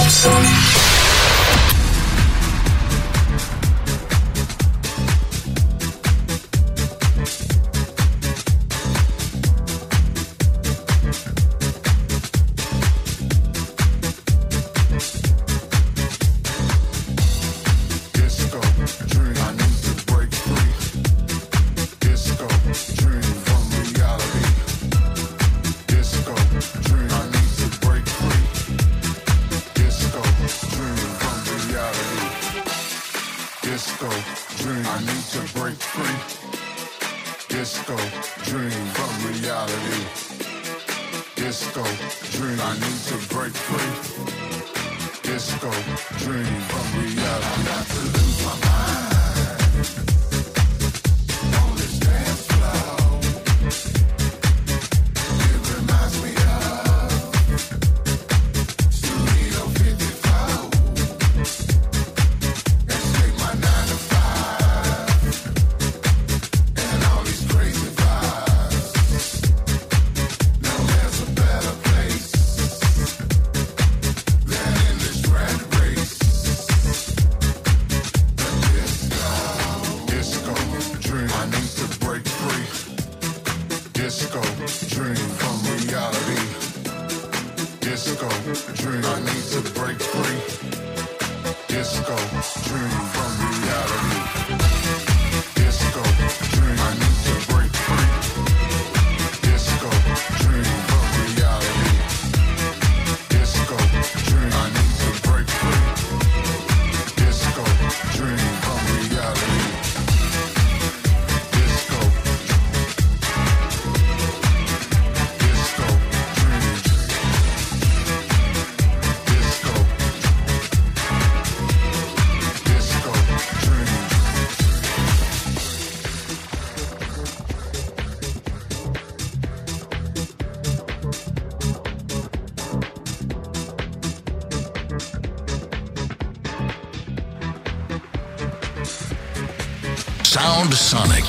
Sound Sonic.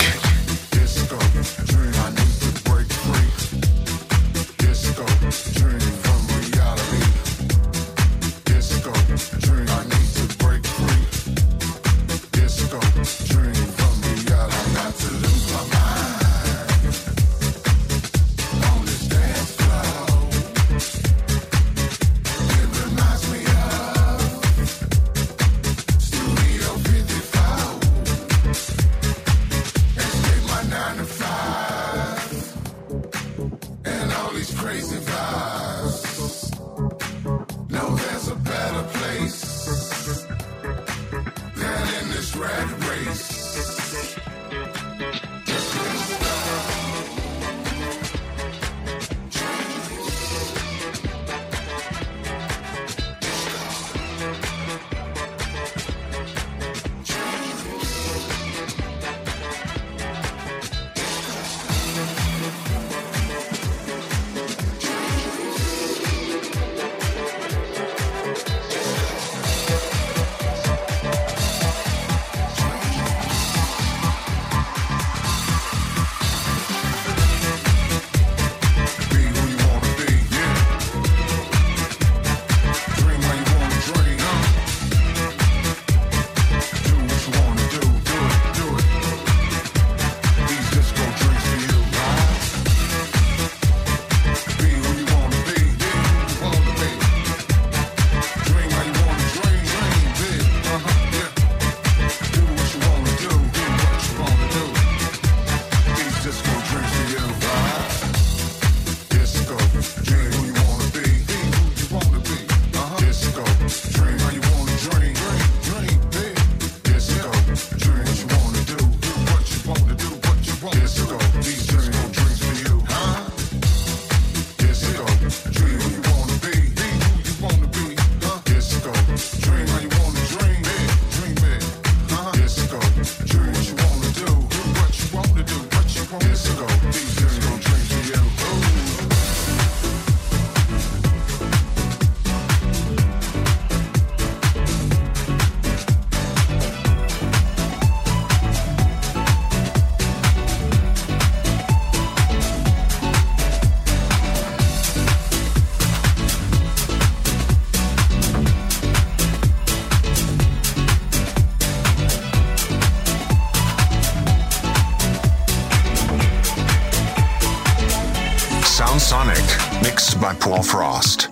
Mixed by Paul Frost.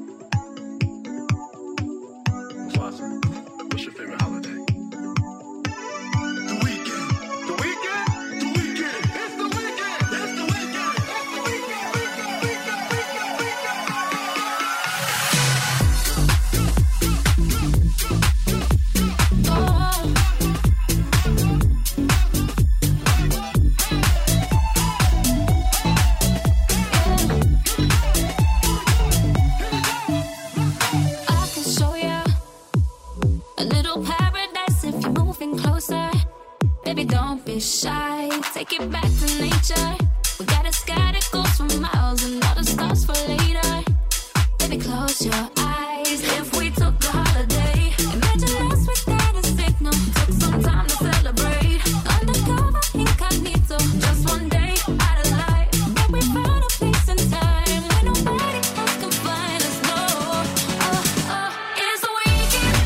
What's your favorite holiday? The weekend. The weekend? The weekend. It's the weekend. It's the weekend. Don't be shy, take it back to nature. We got a sky that goes for miles and all the stars for later. Baby, close your eyes. If we took a holiday, imagine us without a signal. Took some time to celebrate. Undercover, incognito, just one day out of life. But we found a place and time where nobody else can find us. No, it's the weekend.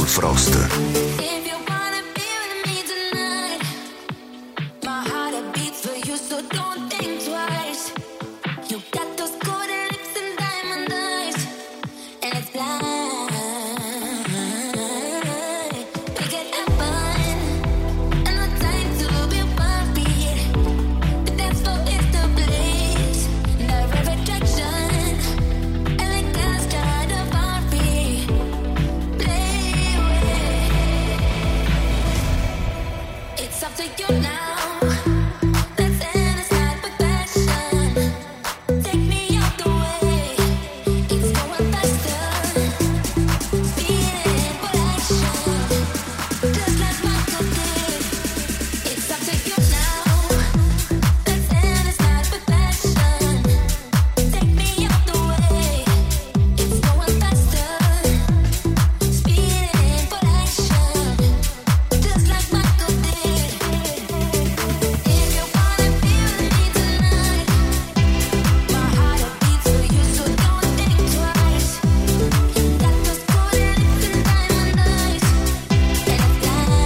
Soul Frost. If you wanna be with me tonight, my heart beats for you, so don't think twice. You got those golden lips and diamond eyes, and it's blind. We can have fun, and no time to be worried. The dance floor is the place, the rare attraction, and the girls try to worry. Play with. It's up to you now. Let's end this night with passion. Take me out the way. It's going faster. Speeding for action, just like Michael did. It's up to you now. Let's end this night with passion. Take me out the way. It's going faster. Speeding for action, just like Michael did. If you wanna be with me tonight, my heart beats for you, so don't think twice. You got those golden lips and diamond eyes, and it's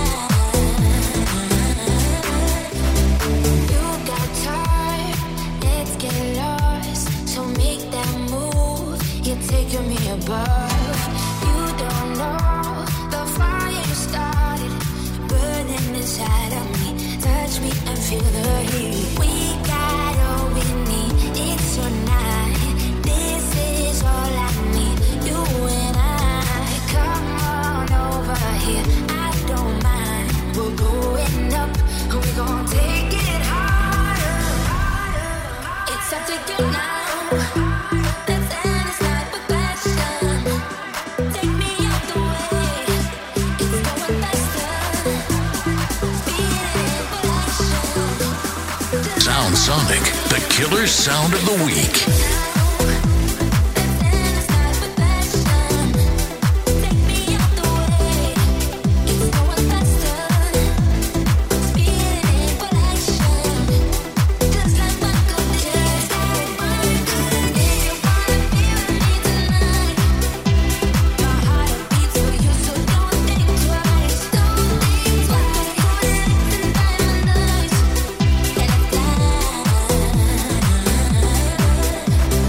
blind. You got time, let's get lost. So make that move, you're taking me above. You don't know the fire you started, burning inside of me. Touch me and feel the heat. We got all we need, it's your night. This is all I need, you and I. Come on over here, I don't mind. We're going up, we're gonna take it harder. It's up to you now. Let's end this night with passion. Take me out the way. It's going faster. Speeding for action. Sound Sonic, the killer sound of the week. Let's end this night with passion. Take me out the way. It's going faster. Speeding for action, just like Michael did. If you wanna be with me tonight, my heart beats for you, so don't think twice. Don't think twice. Golden lips and diamond eyes, and it's blind.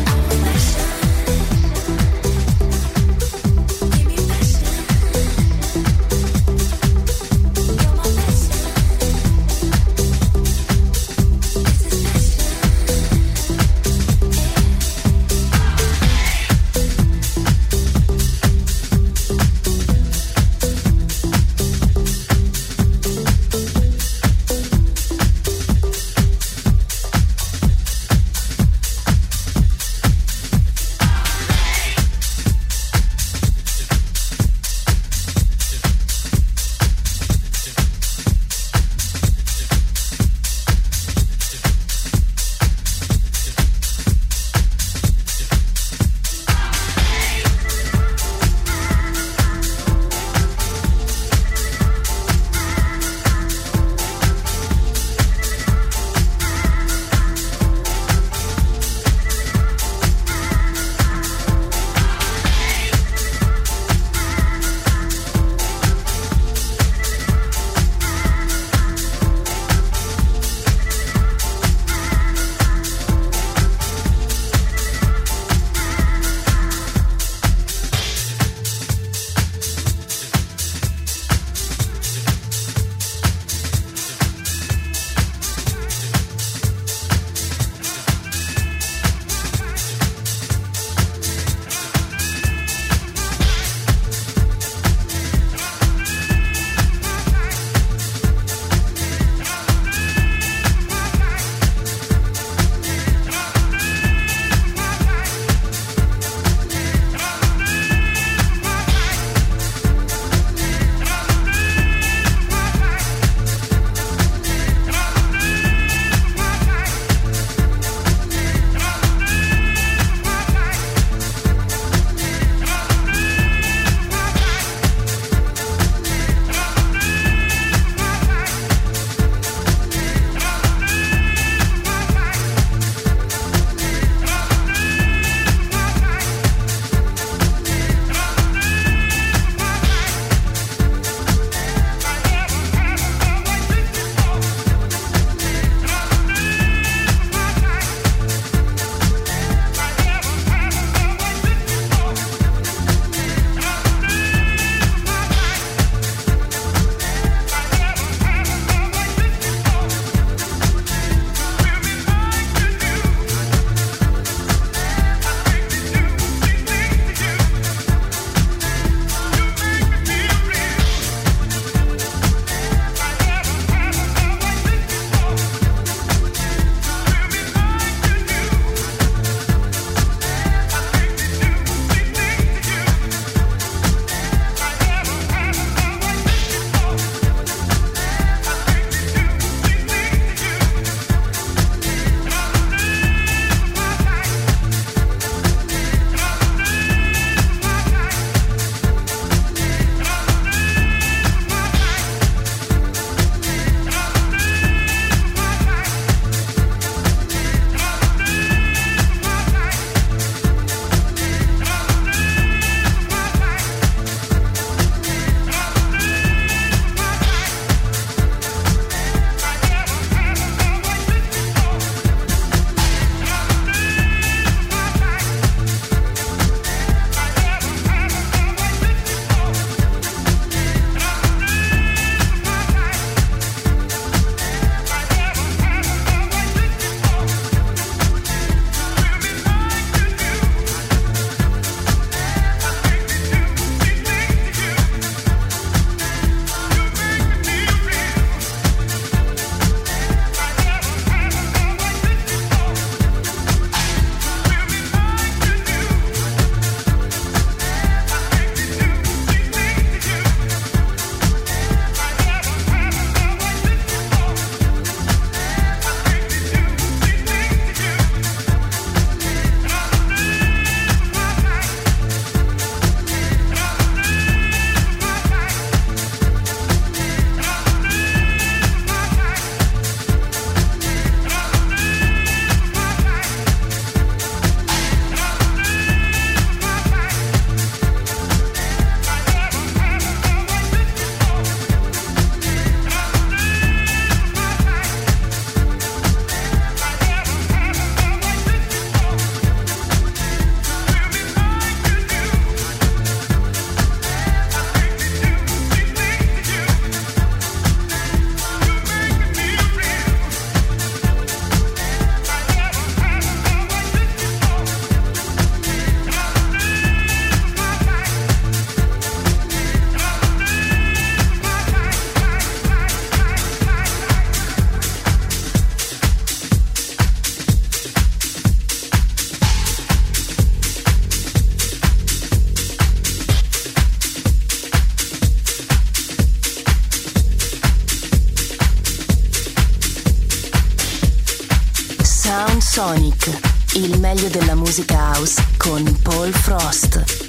Sound Sonic, il meglio della musica house con Paul Frost.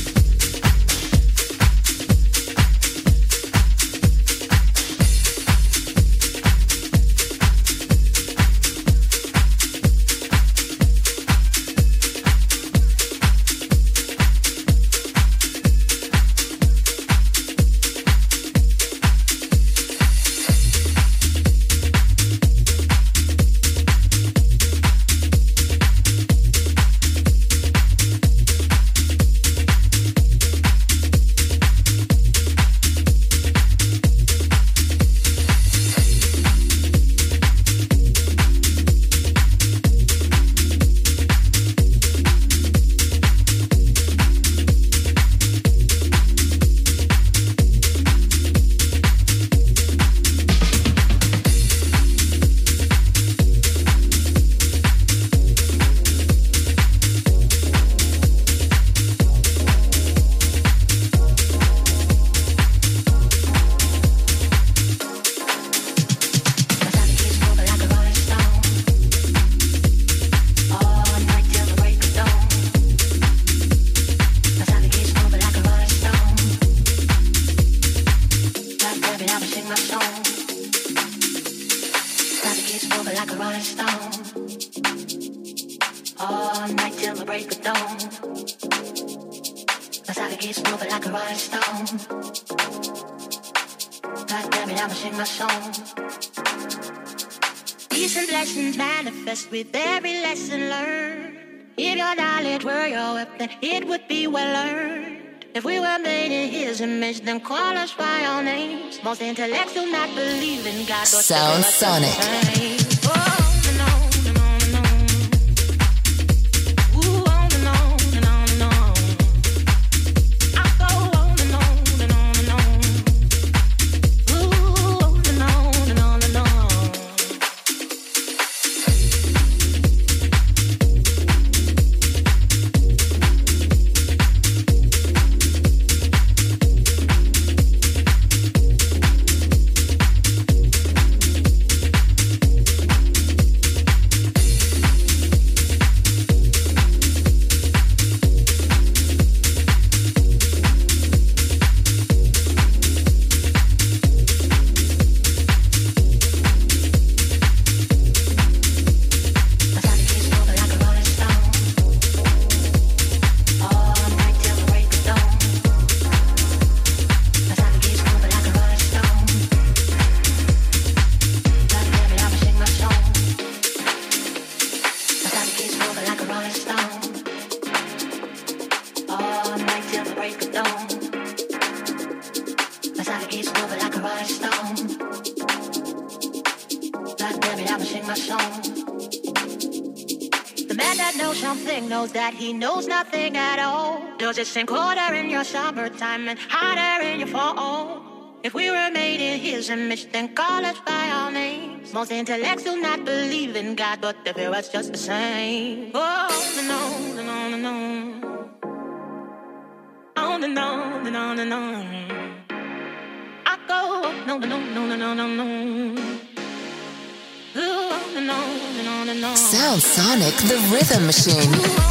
With every lesson learned, if your knowledge were your weapon, it would be well earned. If we were made in His image, then call us by our names. Most intellects do not believe in God. Sound Sonic. He knows nothing at all. Does it seem colder in your summertime and hotter in your fall? If we were made in His image, then call us by our names. Most intellects do not believe in God, but they feel us just the same. Oh, no, no, no, no, no. Oh, no, no, no, no, no. I go, no, no, no, no, no, no, no. Ooh, no, no, no, no. Sound Sonic, the rhythm machine. Ooh,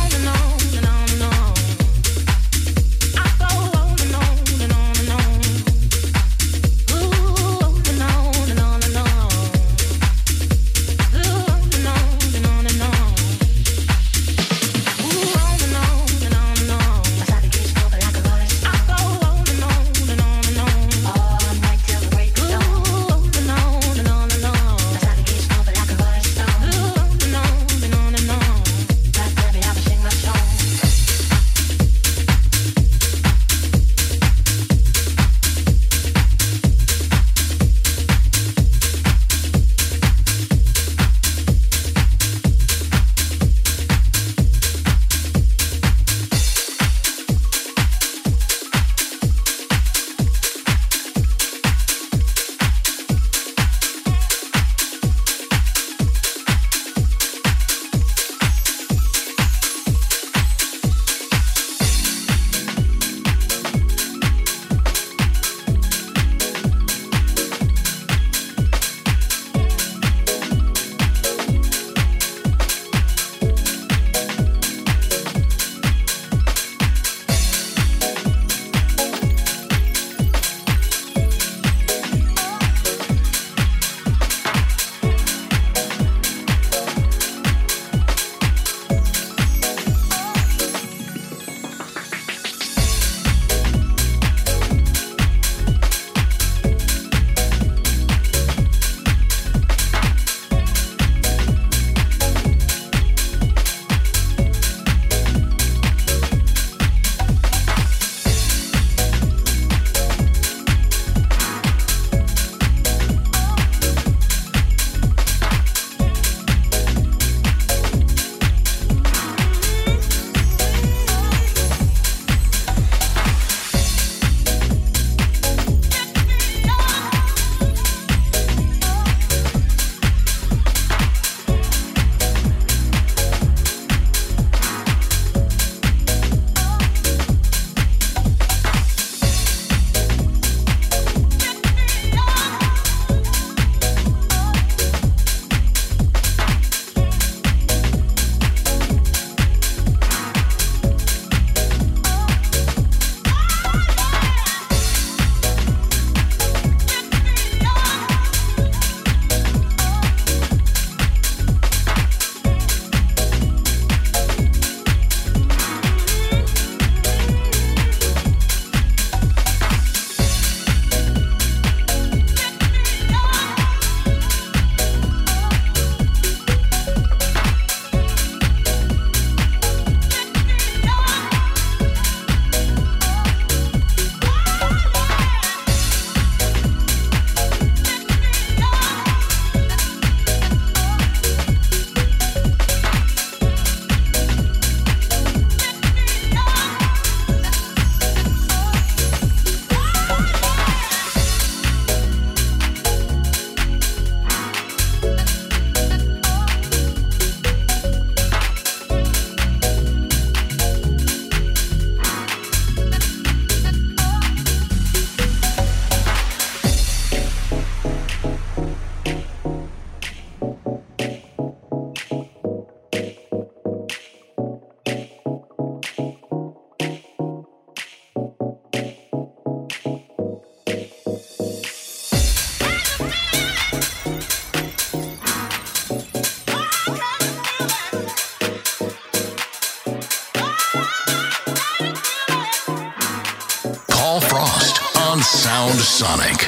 Sound Sonic.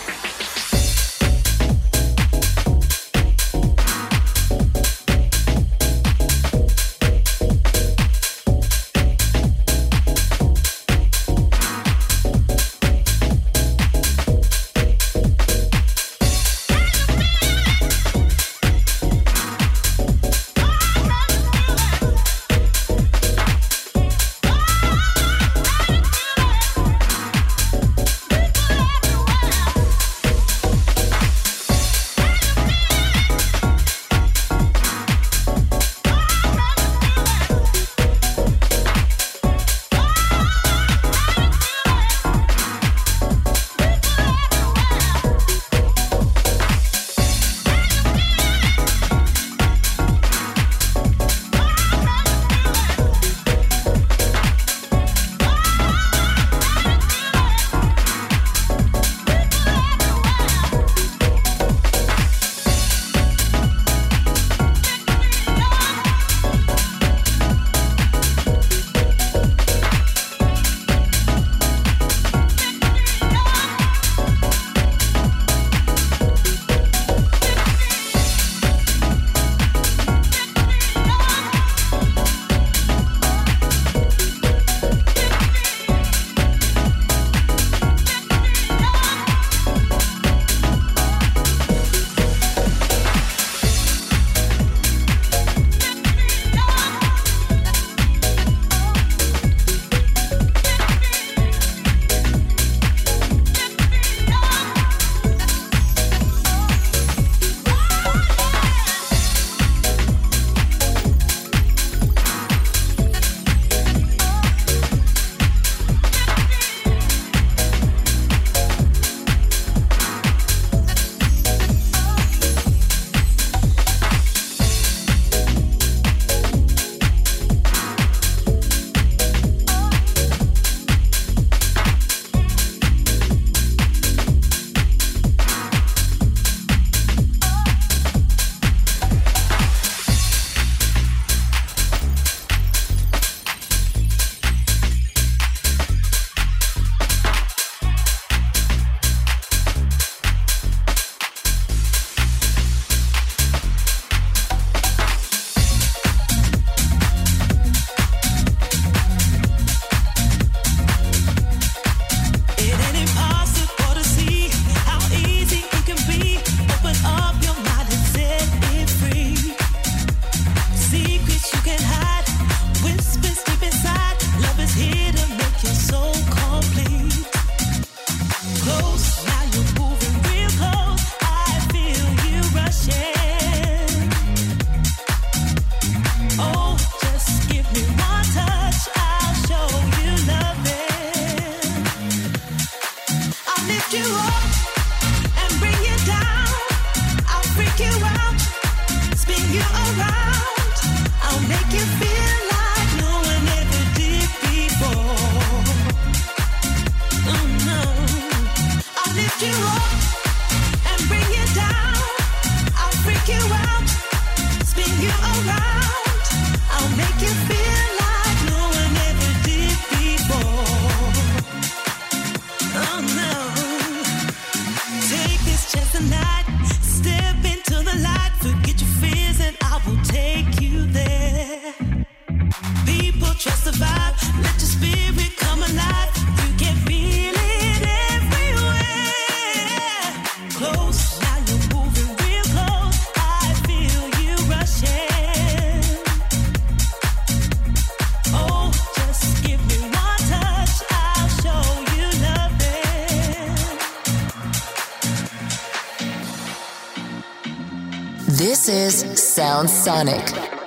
This is Sound Sonic.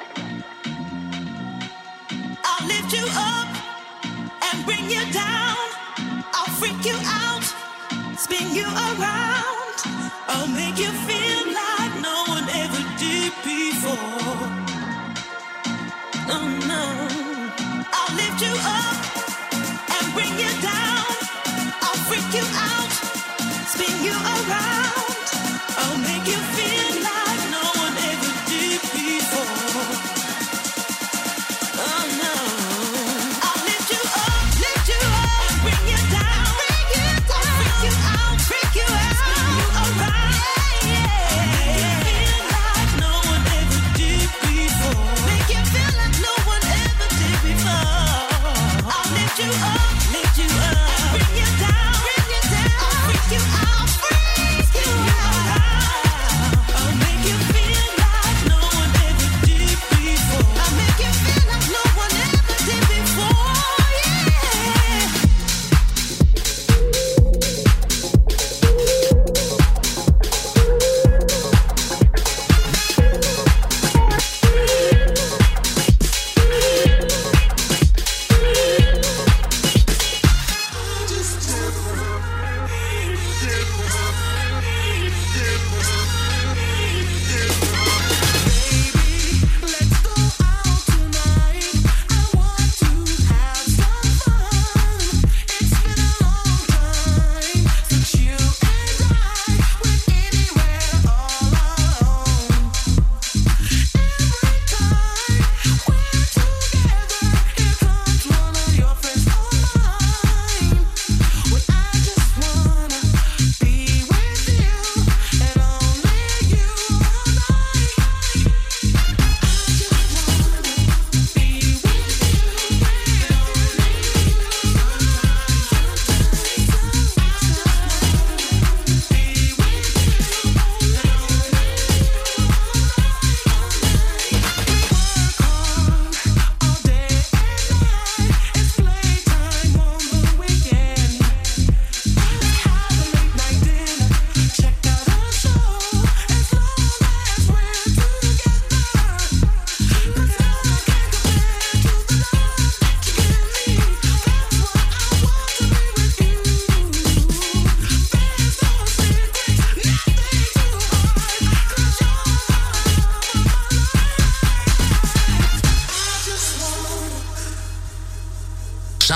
I'll lift you up and bring you down. I'll freak you out, spin you around. I'll make you feel like no one ever did before. Oh no. I'll lift you up and bring you down. I'll freak you out, spin you around. I'll make you feel like no one ever did before. Oh no. I'll lift you up and bring you down. I'll freak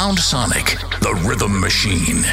Sound Sonic, the rhythm machine.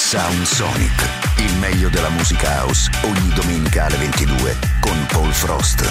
Sound Sonic, il meglio della musica house, ogni domenica alle 22 con Paul Frost.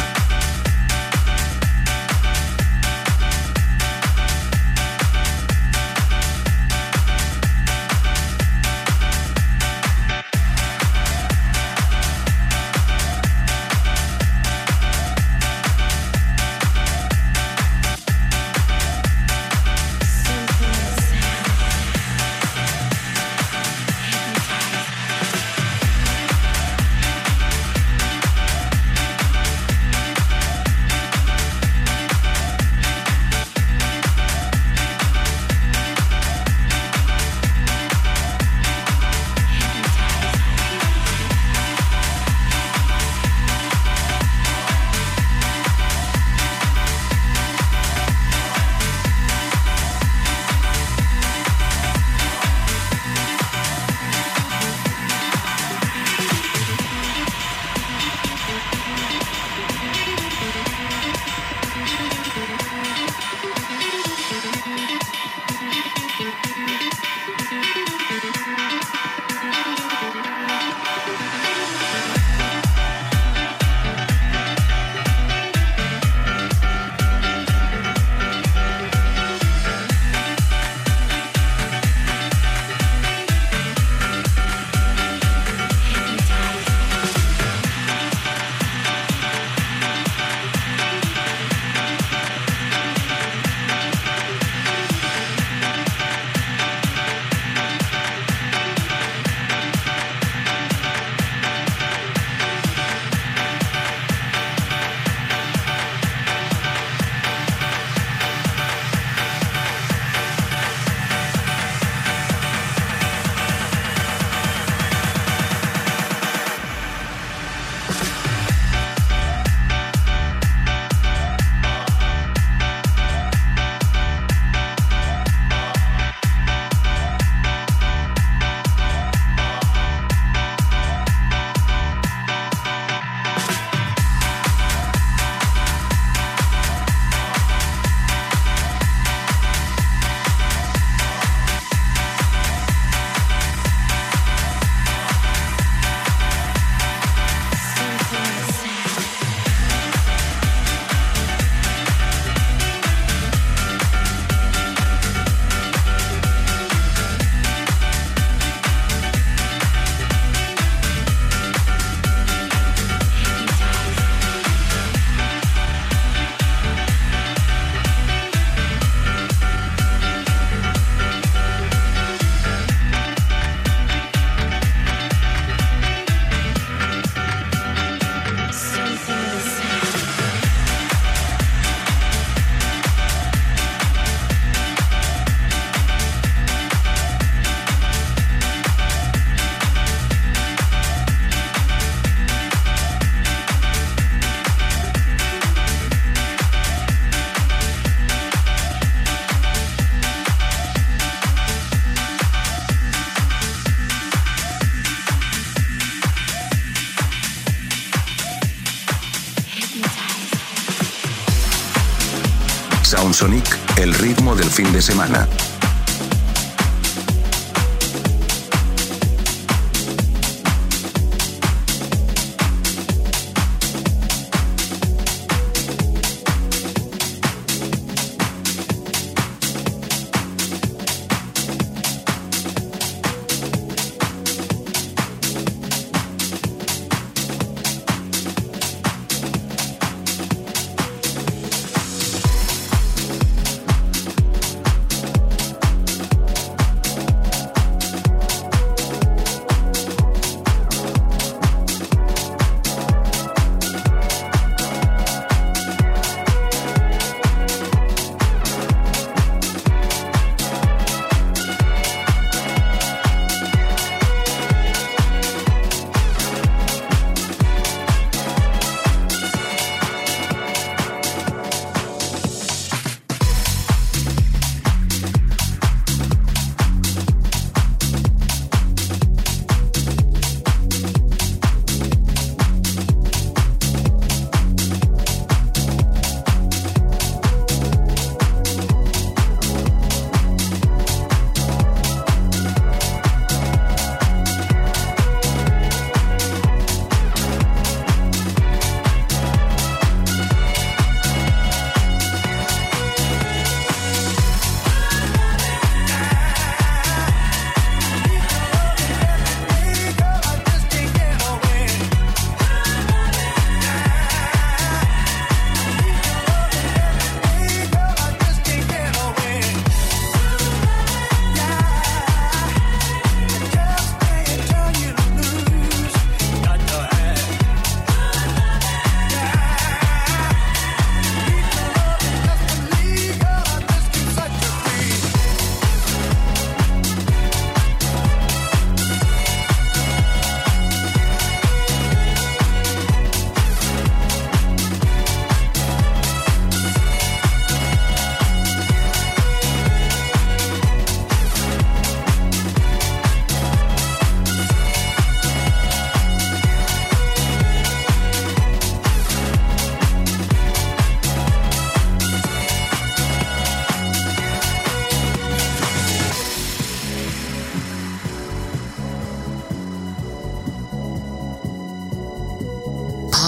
Sound Sonic, el ritmo del fin de semana.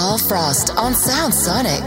Paul Frost on Sound Sonic.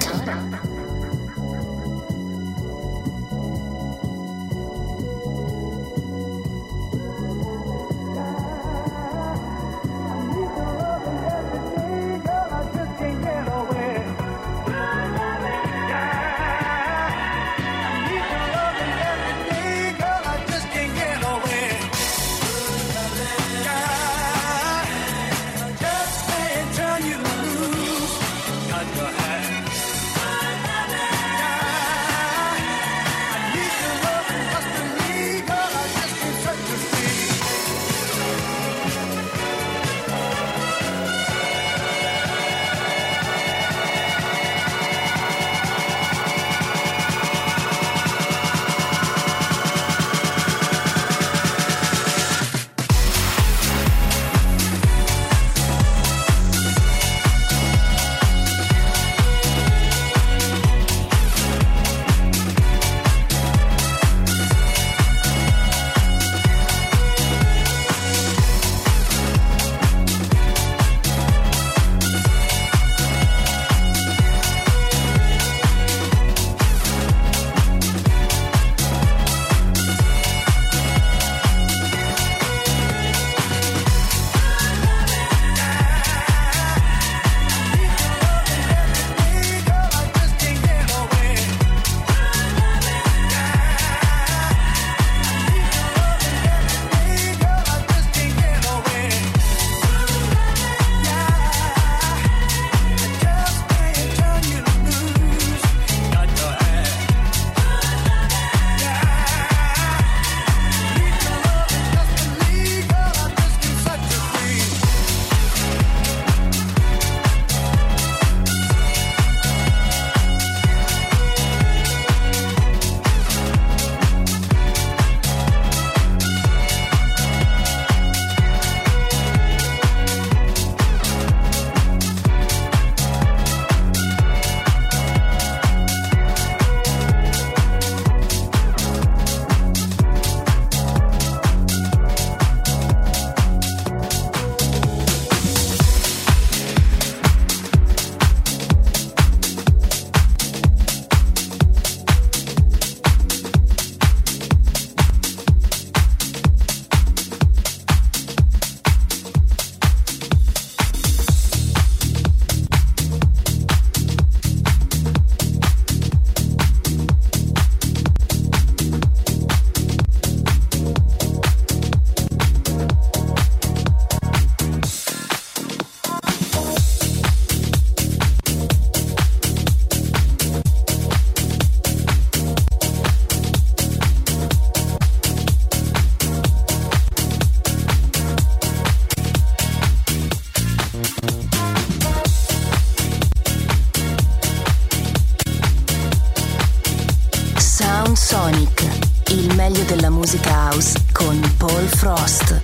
Sonic, il meglio della musica house con Paul Frost.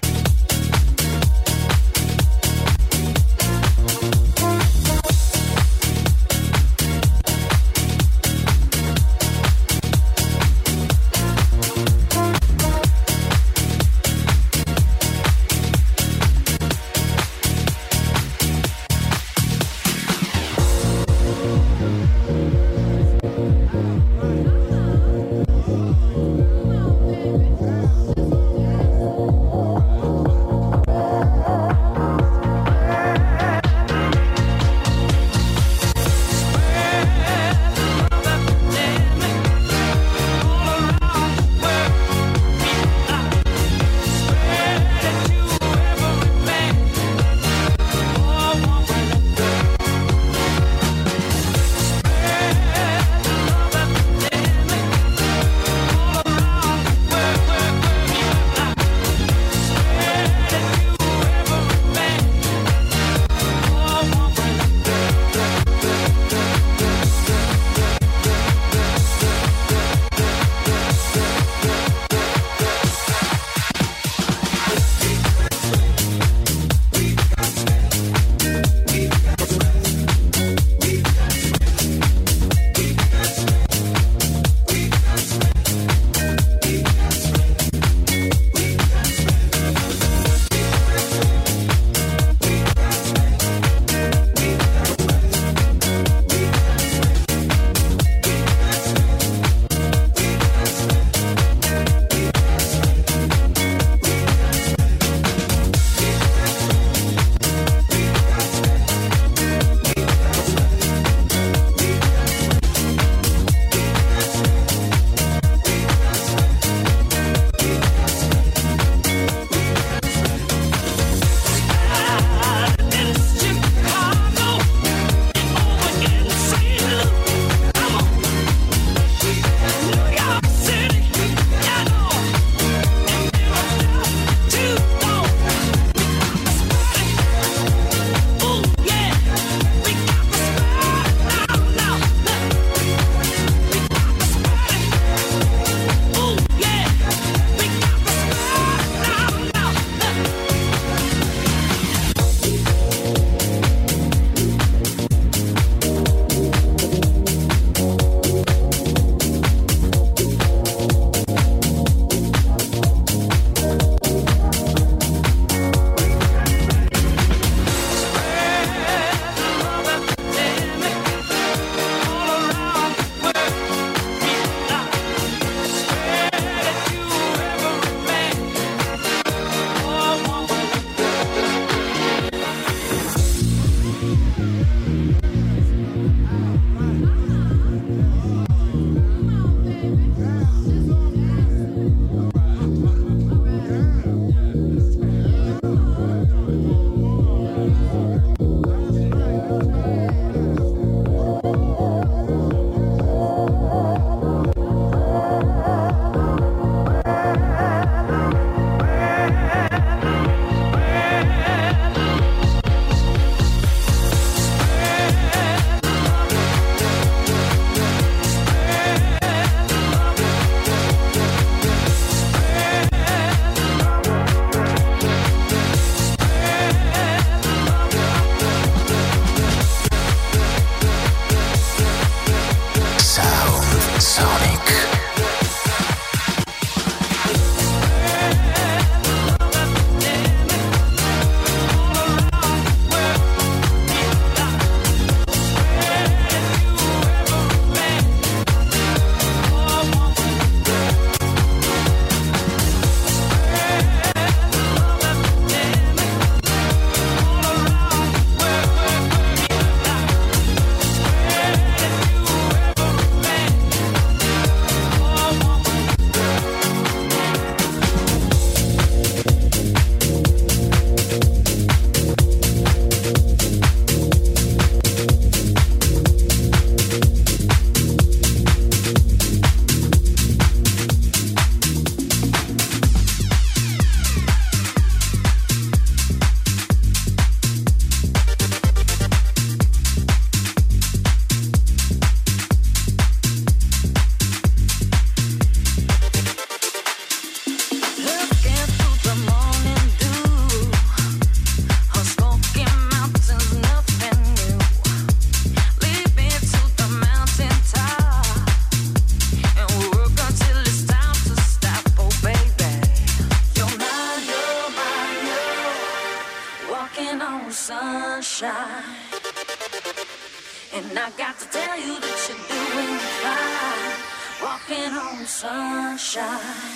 And I got to tell you that you're doing fine, walking on sunshine.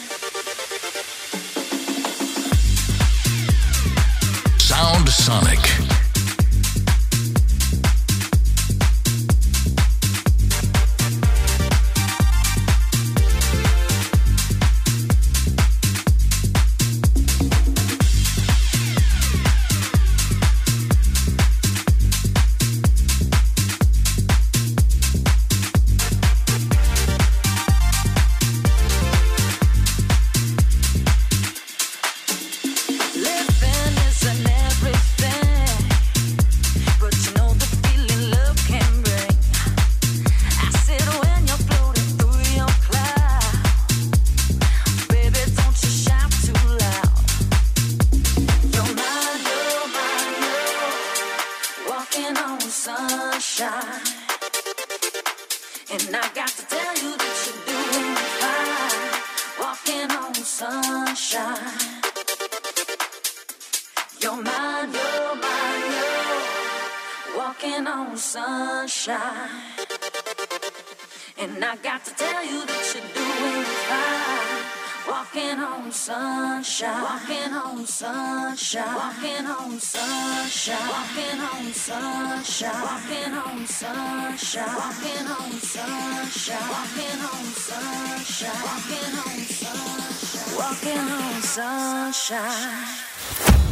Sound Sonic. And I got to tell you that you're doing fine, walking on sunshine, walking on sunshine, walking on sunshine, walking on sunshine, walking on sunshine, walking on sunshine, walking on sunshine, walking on sunshine, walking on sunshine.